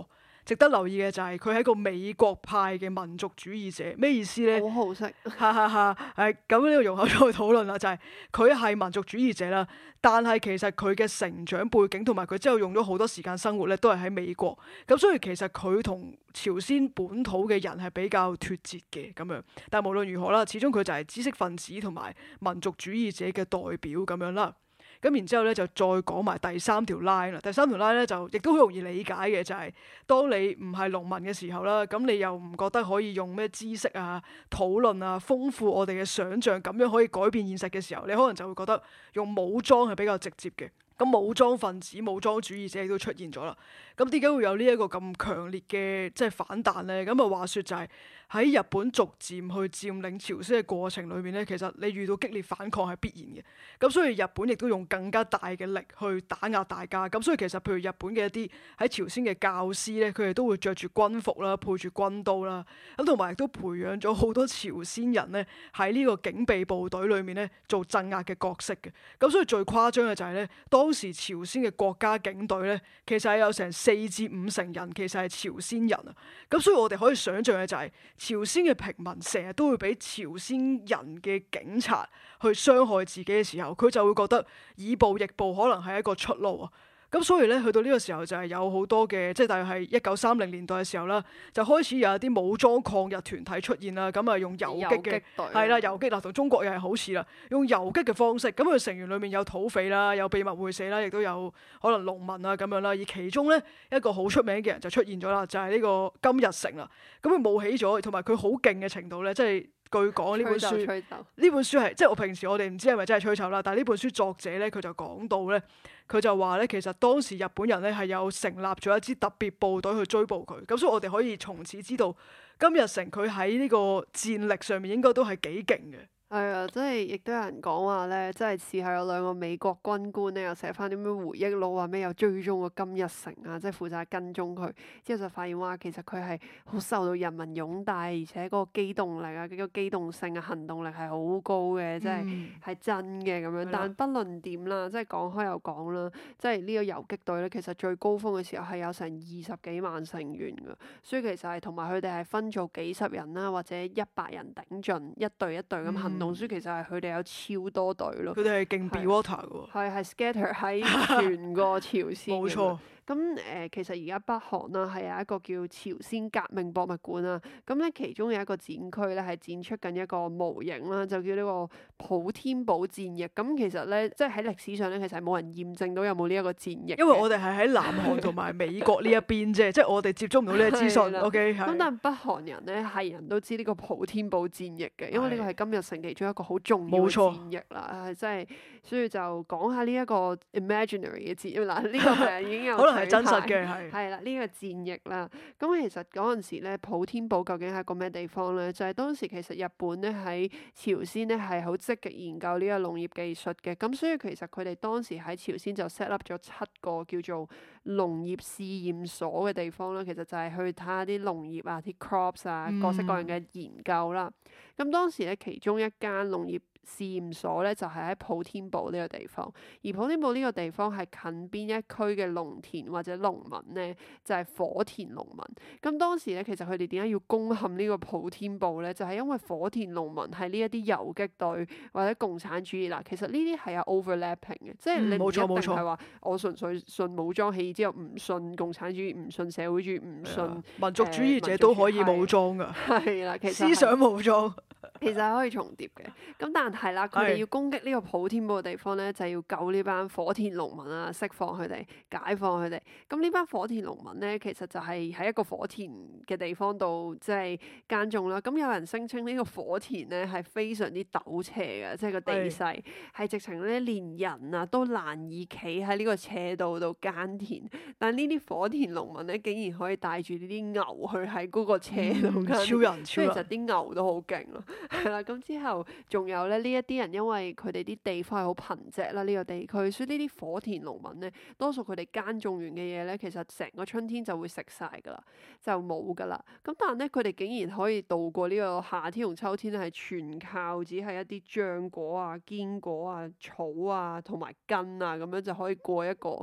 值得留意嘅就係佢係一個美國派嘅民族主義者，咩意思咧？ 好好食。 哈哈哈，咁呢個容後再討論啦，就係佢係民族主義者啦，但係其實佢嘅成長背景同埋佢之後用咗好多時間生活咧，都係喺美國，咁所以其實佢同朝鮮本土嘅人係比較脫節嘅咁樣。但係無論如何啦，始終佢就係知識分子同埋民族主義者嘅代表咁樣啦。咁然之後咧就再講埋第三條 line 啦。第三條 line 咧就亦都好容易理解嘅，就係當你唔係農民嘅時候啦，咁你又唔覺得可以用咩知識啊、討論啊、豐富我哋嘅想像，咁樣可以改變現實嘅時候，你可能就會覺得用武裝係比較直接嘅。咁武裝分子、武裝主義者亦都出現咗啦。咁點解會有呢一個咁強烈嘅即係反彈呢？咁啊話説就係喺日本逐漸去佔領朝鮮嘅過程裏面咧，其實你遇到激烈反抗係必然嘅。咁所以日本亦都用更加大嘅力去打壓大家。咁所以其實譬如日本嘅一啲喺朝鮮嘅教師咧，佢哋都會着住軍服啦，配住軍刀啦。咁同埋亦都培養咗好多朝鮮人咧喺呢個警備部隊裏面咧做鎮壓嘅角色嘅。咁所以最誇張嘅就係咧，當時朝鮮嘅國家警隊咧，其實係有成4至5成人其實係朝鮮人啊。咁所以我哋可以想象嘅就係朝鮮嘅平民成日都會俾朝鮮人嘅警察去傷害自己嘅時候，佢就會覺得以暴易暴可能係一個出路啊。咁所以咧，去到呢個時候就係有好多嘅，即係大約係1930年代嘅時候啦，就開始有一啲武裝抗日團體出現啦。咁啊，用游擊嘅係啦，游擊嗱同中國又係好似啦，用游擊嘅方式。咁佢成員裡面有土匪啦，有秘密會社啦，亦都有可能農民啊咁樣啦。而其中咧一個好出名嘅人就出現咗啦，就係呢個金日成啦。咁佢冒起咗，同埋佢好勁嘅程度咧，即係據講呢本書，呢本書係即係我平時我哋唔知係咪真係吹奏啦，但係呢本書作者咧佢就講到咧。佢就話咧，其實當時日本人咧係有成立咗一支特別部隊去追捕佢，咁所以我哋可以從此知道金日成佢喺呢個戰力上面應該都係幾勁嘅。 係啊，即係亦都有人講話咧，即係試下有兩個美國軍官咧，又寫翻啲咩回憶錄啊，咩又追蹤個金日成啊，即係負責跟蹤佢，之後就發現哇，其實佢係好受到人民擁戴，而且嗰個機動力啊，嗰個機動性啊，行動力係好高嘅，即係真嘅咁樣。但不論點啦，即係講開又講啦，即係呢個游擊隊咧，其實最高峰嘅時候係有成20幾萬成員㗎，所以其實係同埋佢哋係分做幾十人啦，或者100人頂盡，一隊一隊咁行動。書其實係佢哋有超多隊咯， 佢哋係勁 be water 嘅喎， 係 scatter 喺全個朝鮮。 冇錯。 咁其實而家北韓啦係有一個叫朝鮮革命博物館啦，咁咧其中有一個展區咧係展出緊一個模型啦，就叫呢個普天堡戰役。咁其實咧即係喺歷史上咧，其實係冇人驗證到有冇呢一個戰役。 因為我哋係喺南韓同埋美國呢一邊啫，即係我哋接觸唔到呢個資訊。OK， 咁但係北韓人咧係人都知呢個普天堡戰役嘅，因為呢個係金日成其中一個好重要嘅戰役啦。即係所以就講下呢一個 imaginary 嘅戰役嗱，呢個係已經有可能係真實嘅， 係啦，呢個戰役啦。咁其實嗰陣時咧，普天堡究竟係一個咩地方咧？就係當時其實日本咧喺朝鮮咧係好積極研究呢個農業技術嘅。咁所以其實佢哋當時喺朝鮮就 set up 咗7個叫做農業試驗所嘅地方啦。其實就係去睇下啲農業啊、啲 crops 啊、各式各樣嘅研究啦。咁當時咧，其中一間農業試驗所咧就係喺普天堡呢個地方，而普天堡呢個地方係近邊一區嘅農田或者農民咧，就係火田農民。咁當時咧，其實佢哋點解要攻陷呢個普天堡咧？就係因為火田農民係呢一啲游擊隊或者共產主義啦。其實呢啲係有 overlapping 嘅，即係你唔一定係話我純粹信武裝起義之後唔信共產主義、唔信社會主義、唔信民族主義者都可以武裝㗎。 係啦，其實思想武裝。 其實係可以重疊嘅，咁但係啦，佢哋要攻擊呢個普天堡嘅地方咧，就係要救呢班火田農民啊，釋放佢哋，解放佢哋。咁呢班火田農民咧，其實就係喺一個火田嘅地方度，即係耕種啦。咁有人聲稱呢個火田咧係非常之陡斜嘅，即係個地勢係直情咧連人啊都難以企喺呢個斜度度耕田。但呢啲火田農民咧，竟然可以帶住呢啲牛去喺嗰個斜度耕田， 超人， 其實啲牛都好勁咯。係啦，咁之後仲有咧呢一啲人，因為佢哋啲地方係好貧瘠啦，呢個地區，所以呢啲火田農民咧，多數佢哋耕種完嘅嘢咧，其實成個春天就會食晒㗎啦，就冇㗎啦。咁但係咧，佢哋竟然可以度過呢個夏天同秋天咧，係全靠只係一啲漿果啊、堅果啊、草啊同埋根啊咁樣就可以過一個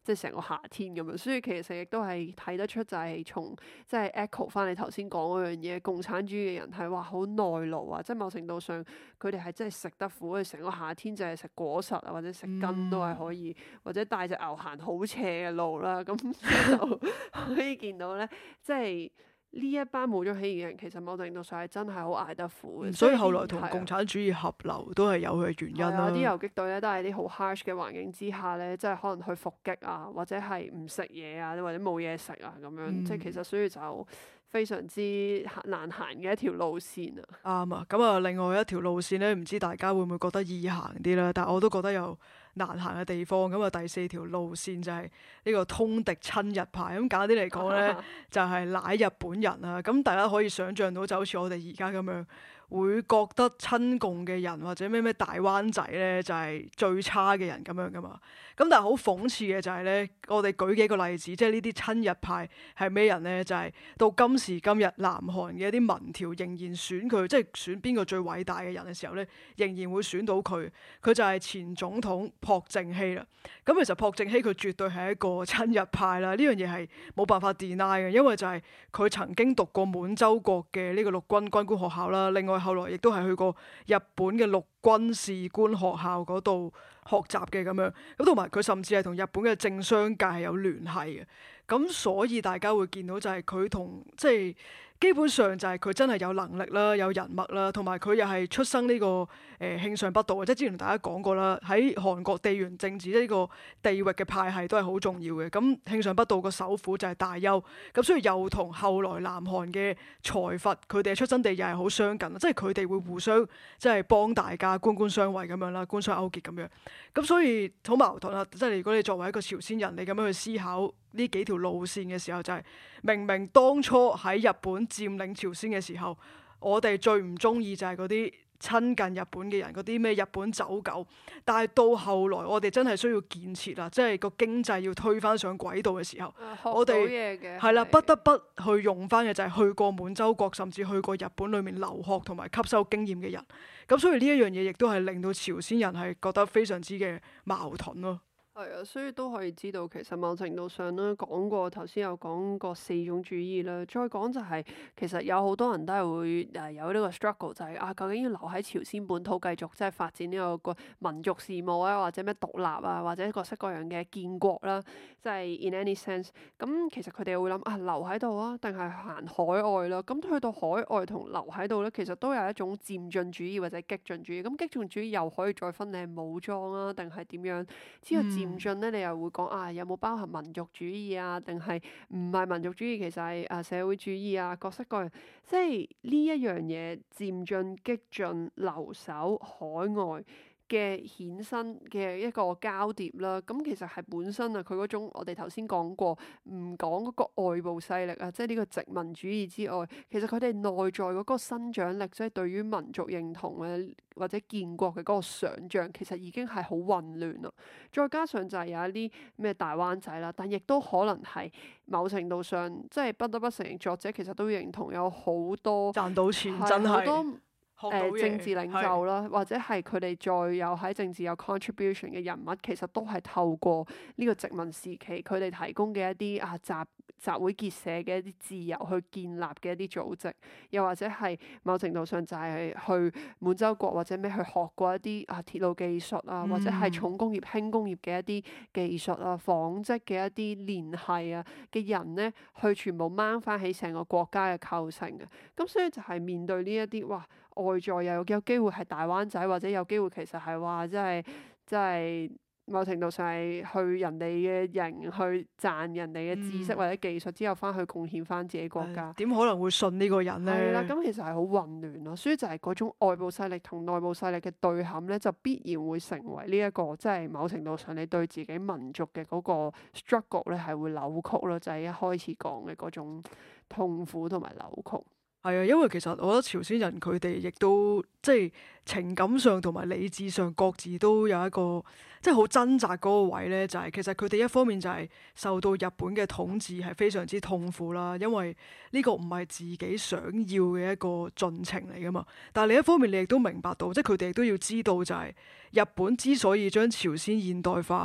即係成個夏天咁樣。所以其實亦都係睇得出就係從即係 echo 翻你頭先講嗰樣嘢，共產主義嘅人係話好耐勞啊，即係某程度上佢哋係真係食得苦，佢成個夏天就係食果實啊，或者食根都係可以，或者帶隻牛行好斜嘅路啦，咁就可以見到咧，即係。呢一班冇咗起義嘅人，其實某程度上係真係好捱得苦嘅。 所以後來同共產主義合流都係有佢嘅原因啦。 啲遊擊隊咧都係啲好 harsh 嘅環境之下咧，即係可能去伏擊啊，或者係唔食嘢啊，或者冇嘢食啊咁樣。即係其實所以就非常之難行嘅一條路線啊。 啱啊！咁啊，另外一條路線咧，唔知大家會唔會覺得易行啲啦？但係我都覺得有難行嘅地方。咁啊，第四條路線就係呢個通敵親日派。咁簡單啲嚟講咧，就係奶日本人啊。咁大家可以想像到，就好似我哋而家咁樣，會覺得親共嘅人或者咩大灣仔咧，就係最差嘅人咁樣噶嘛。咁但係好諷刺嘅就係咧，我哋舉幾個例子，即係呢啲親日派係咩人咧？就係到今時今日，南韓嘅一啲民調仍然選佢，即係選邊個最偉大嘅人嘅時候咧，仍然會選到佢。佢就係前總統朴正熙啦。咁其實朴正熙佢絕對係一個親日派啦，呢樣嘢係冇辦法 deny 嘅，因為就係佢曾經讀過滿洲國嘅呢個陸軍軍官學校啦，另外後來亦都係去過日本嘅陸軍士官學校嗰度學習嘅咁樣，咁同埋佢甚至係同日本嘅政商界係有聯繫嘅，咁所以大家會見到就係佢同即係基本上就係佢真係有能力啦，有人脈啦，同埋佢又係出生呢個慶尚北道嘅，即係之前同大家講過啦，喺韓國地緣政治呢個地域嘅派系都係好重要嘅。咁慶尚北道個首府就係大邱，咁所以又同後來南韓嘅財閥佢哋嘅出生地又係好相近，即係佢哋會互相即係幫大家官官相衛咁樣啦，官商勾結咁樣。咁所以好矛盾啦，即係如果你作為一個朝鮮人，你咁樣去思考呢幾條路線嘅時候，就係明明當初喺日本佔領朝鮮嘅時候，我哋最唔中意就係嗰啲親近日本嘅人，嗰啲咩日本走狗。但係到後來，我哋真係需要建設啦，即係個經濟要推返上軌道嘅時候，我哋係啦，不得不去用返嘅就係去過滿洲國，甚至去過日本裏面留學同埋吸收經驗嘅人。咁所以呢一樣嘢亦都係令到朝鮮人係覺得非常之嘅矛盾咯。 係啊，所以都可以知道，其實某程度上咧講過，頭先有講過四種主義啦。再講就係、其實有好多人都係會有呢個 struggle，就係、究竟要留喺朝鮮本土繼續即係發展呢個民族事務啊，或者咩獨立啊，或者各式各樣嘅建國啦，即係 in any sense。咁其實佢哋會諗留喺度啊，定係行海外啦？咁去到海外同留喺度咧，其實都有一種漸進主義或者激進主義。咁激進主義又可以再分你係武裝啊，定係點樣？之後漸進咧，你又會講有冇包含民族主義啊？定係唔係民族主義？其實係社會主義啊，各式各樣。即係呢一樣嘢，漸進、激進、留守、海外嘅衍生嘅一個交疊啦，咁其實係本身佢嗰種我哋頭先講過，唔講嗰個外部勢力啊，即係呢個殖民主義之外，其實佢哋內在嗰個生長力，即係對於民族認同啊或者建國嘅嗰個想像，其實已經係好混亂啦。再加上就係有一啲咩大灣仔啦，但亦都可能係某程度上，即係不得不承認作者其實都認同有好多賺到錢真係。 政治領袖啦，或者係佢哋再有喺政治有 contribution 嘅人物，其實都係透過呢個殖民時期佢哋提供嘅一啲集會結社嘅一啲自由去建立嘅一啲組織，又或者係某程度上就係去滿洲國或者咩去學過一啲鐵路技術啊，或者係重工業輕工業嘅一啲技術啊、紡織嘅一啲聯繫啊嘅人咧，去全部掹翻起成個國家嘅構成嘅。咁所以就係面對呢一啲外在又有機會係大灣仔，或者有機會其實係話即係某程度上係去人哋嘅營去賺人哋嘅知識或者技術之後翻去貢獻翻自己國家。 點可能會信呢個人咧？ 係啦，咁其實係好混亂咯。所以就係嗰種外部勢力同內部勢力嘅對撼咧，就必然會成為呢一個即係某程度上你對自己民族嘅嗰個 struggle 咧係會扭曲咯，就係一開始講嘅嗰種痛苦同埋扭曲。 係啊，因為其實我覺得朝鮮人佢哋亦都即係情感上同埋理智上各自都有一個即係好掙扎嗰個位咧，就係其實佢哋一方面就係受到日本嘅統治係非常之痛苦啦，因為呢個唔係自己想要嘅一個進程嚟噶嘛。但係另一方面，你亦都明白到，即係佢哋亦都要知道就係日本之所以將朝鮮現代化，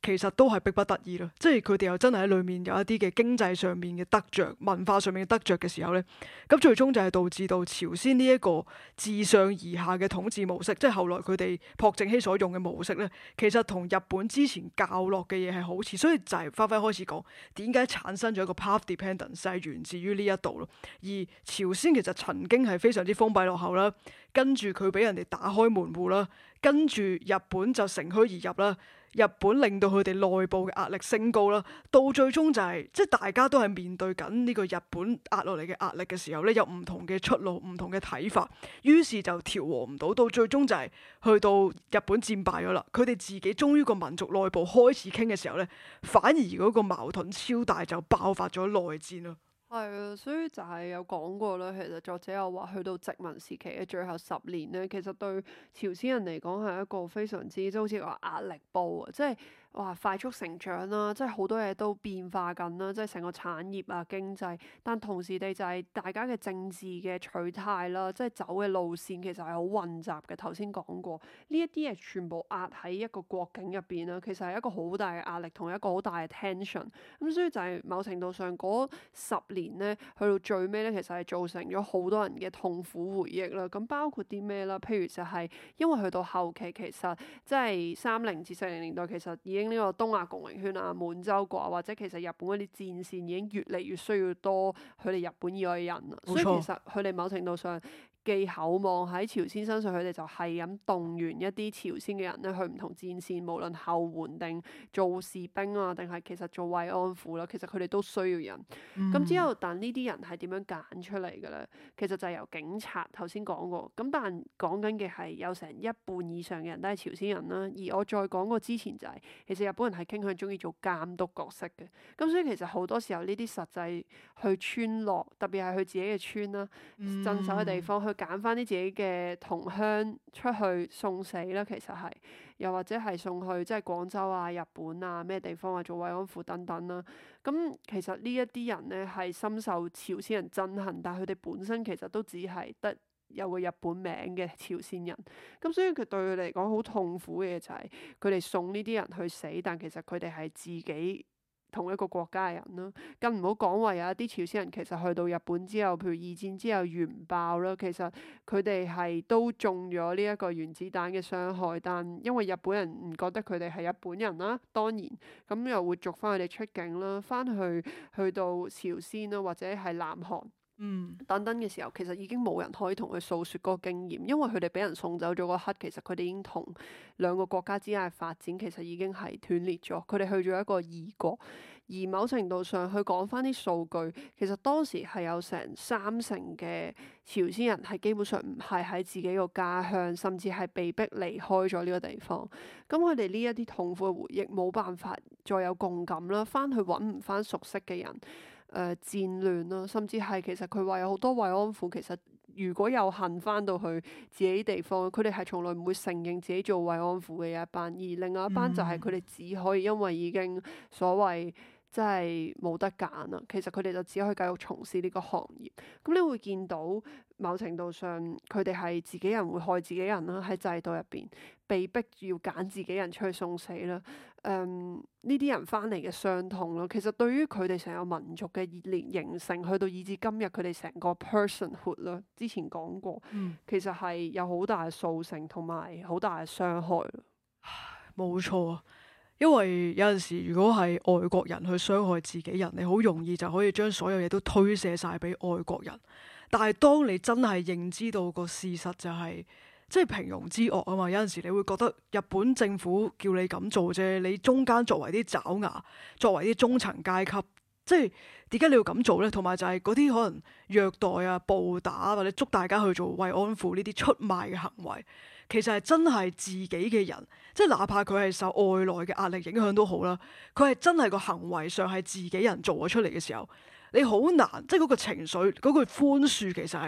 其實都係逼不得已咯，即係佢哋又真係喺裏面有一啲嘅經濟上面嘅得着、文化上面嘅得着嘅時候咧，咁最終就係導致到朝鮮呢一個自上而下嘅統治模式，即係後來佢哋朴正熙所用嘅模式咧，其實同日本之前教落嘅嘢係好似，所以就係花花開始講點解產生咗一個 path dependence 就係源自於呢一度咯。而朝鮮其實曾經係非常之封閉落後啦，跟住佢俾人哋打開門戶啦，跟住日本就乘虛而入啦。日本令到佢哋內部嘅壓力升高啦，到最終就係即係大家都係面對緊呢個日本壓落嚟嘅壓力嘅時候咧，有唔同嘅出路、唔同嘅睇法，於是就調和唔到，到最終就係去到日本戰敗咗啦。佢哋自己終於個民族內部開始傾嘅時候咧，反而嗰個矛盾超大，就爆發咗內戰咯。 係啊，所以就係有講過啦。其實作者又話，去到殖民時期嘅最後10年咧，其實對朝鮮人嚟講係一個非常之即係好似話壓力煲啊，即係哇快速成長啦，即係好多嘢都變化緊啦，即係成個產業啊經濟，但同時地就係大家嘅政治嘅取態啦，即係走嘅路線其實係好混雜嘅。頭先講過呢一啲嘢全部壓喺一個國境入邊啦，其實係一個好大嘅壓力同一個好大嘅 tension。咁所以就係某程度上嗰10年咧，去到最尾咧，其實係造成咗好多人嘅痛苦回憶啦。咁包括啲咩啦？譬如就係因為去到後期，其實即係30至40年代，其實已經呢個東亞共榮圈啊、滿洲國啊，或者其實日本嗰啲戰線已經越嚟越需要多佢哋日本以外嘅人啦。 冇錯。 所以其實佢哋某程度上寄厚望喺朝鮮身上，佢哋就係咁動員一啲朝鮮嘅人咧去唔同戰線，無論後援定做士兵啊，定係其實做慰安婦啦，其實佢哋都需要人。咁之後，但呢啲人係點樣揀出嚟嘅咧？其實就係由警察頭先講過。咁但講緊嘅係有成一半以上嘅人都係朝鮮人啦。而我再講過之前就係、其實日本人係傾向中意做監督角色嘅。咁所以其實好多時候呢啲實際去村落，特別係佢自己嘅村啦、鎮守嘅地方，去揀翻啲自己嘅同鄉出去送死啦。其實係又或者係送去即係廣州啊、日本啊咩地方啊做慰安婦等等啦。咁其實呢一啲人咧係深受朝鮮人憎恨，但係佢哋本身其實都只係得有個日本名嘅朝鮮人。咁所以佢對佢嚟講好痛苦嘅就係佢哋送呢啲人去死，但其實佢哋係自己同一個國家嘅人啦。更唔好講話有一啲朝鮮人其實去到日本之後，譬如二戰之後原爆啦，其實佢哋係都中咗呢一個原子彈嘅傷害，但因為日本人唔覺得佢哋係日本人啦，當然咁又會逐翻佢哋出境啦，翻去到朝鮮啦，或者係南韓等等嘅時候，其實已經冇人可以同佢訴說嗰個經驗，因為佢哋俾人送走咗嗰刻，其實佢哋已經同兩個國家之間嘅發展其實已經係斷裂咗，佢哋去咗一個異國。而某程度上去講翻啲數據，其實當時係有成30%嘅朝鮮人係基本上唔係喺自己個家鄉，甚至係被逼離開咗呢個地方。咁佢哋呢一啲痛苦嘅回憶冇辦法再有共感啦，翻去揾唔翻熟悉嘅人。戰亂啦，甚至係其實佢話有好多慰安婦，其實如果有幸翻到去自己地方，佢哋係從來唔會承認自己做慰安婦嘅一班，而另外一班就係佢哋只可以因為已經所謂即係冇得揀啦，其實佢哋就只可以繼續從事呢個行業。咁你會見到某程度上佢哋係自己人會害自己人啦，喺制度入邊被逼要揀自己人出去送死啦。呢啲人翻嚟嘅傷痛咯，其實對於佢哋成個民族嘅形成，去到以至今日佢哋成個 personhood 啦，之前講過，其實係有好大嘅塑成同埋好大嘅傷害咯。 冇錯啊，因為有陣時如果係外國人去傷害自己人，你好容易就可以將所有嘢都推卸晒俾外國人。但係當你真係認知到個事實就係、即係平庸之惡啊嘛，有陣時你會覺得日本政府叫你咁做啫，你中間作為啲爪牙，作為啲中層階級，即係點解你要咁做咧？同埋就係嗰啲可能虐待啊、暴打或者捉大家去做慰安婦呢啲出賣嘅行為，其實係真係自己嘅人，即係哪怕佢係受外來嘅壓力影響都好啦，佢係真係個行為上係自己人做咗出嚟嘅時候，你好難，即係嗰個情緒嗰句寬恕其實係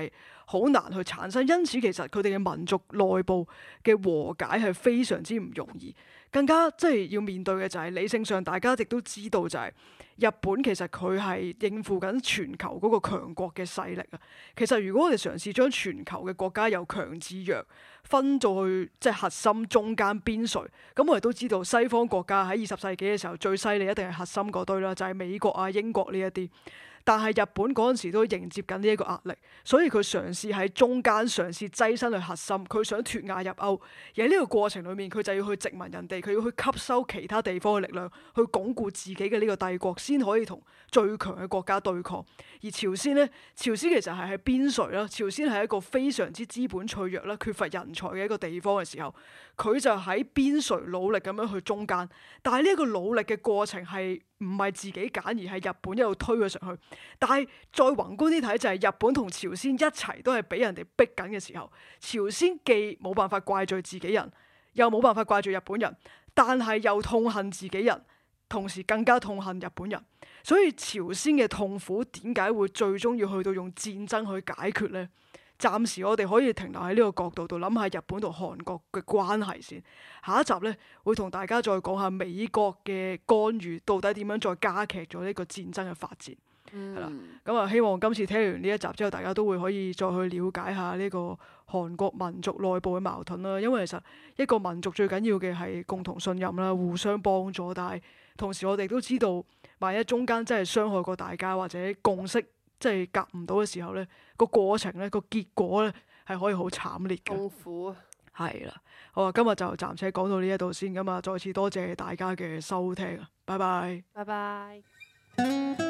好難去產生。因此其實佢哋嘅民族內部嘅和解係非常之唔容易。更加即係要面對嘅就係理性上，大家亦都知道就係日本其實佢係應付緊全球嗰個強國嘅勢力啊。其實如果我哋嘗試將全球嘅國家由強至弱分咗去即係核心、中間、邊陲，咁我哋都知道西方國家喺20世紀嘅時候最犀利一定係核心嗰堆啦，就係美國啊、英國呢一啲。但係日本嗰陣時都迎接緊呢一個壓力，所以佢嘗試喺中間嘗試躋身去核心，佢想脫亞入歐。而喺呢個過程裏面，佢就要去殖民人哋，佢要去吸收其他地方嘅力量，去鞏固自己嘅呢個帝國，先可以同最強嘅國家對抗。而朝鮮呢，朝鮮其實係喺邊陲啦，朝鮮係一個非常之資本脆弱啦、缺乏人才嘅一個地方嘅時候，佢就喺邊陲努力咁樣去中間。但係呢一個努力嘅過程係唔係自己揀，而係日本一路推佢上去。但係再宏觀啲睇，就係日本同朝鮮一齊都係俾人哋逼緊嘅時候，朝鮮既冇辦法怪罪自己人，又冇辦法怪罪日本人，但係又痛恨自己人，同時更加痛恨日本人。所以朝鮮嘅痛苦點解會最終要去到用戰爭去解決呢？暫時我哋可以停留喺呢個角度度諗下日本同韓國嘅關係先。下一集呢，會同大家再講下美國嘅干預到底點樣再加劇咗呢個戰爭嘅發展。係啦，咁啊，希望今次聽完呢一集之後，大家都會可以再去了解下呢個韓國民族內部嘅矛盾啦。因為其實一個民族最緊要嘅係共同信任啦，互相幫助。但係同時我哋都知道，萬一中間真係傷害過大家，或者共識即係夾唔到嘅時候咧，個過程咧，個結果咧係可以好慘烈嘅。 痛苦啊！ 係啦，好啊，今日就暫且講到呢一度先㗎嘛，再次多謝大家嘅收聽啊，拜拜。 拜拜。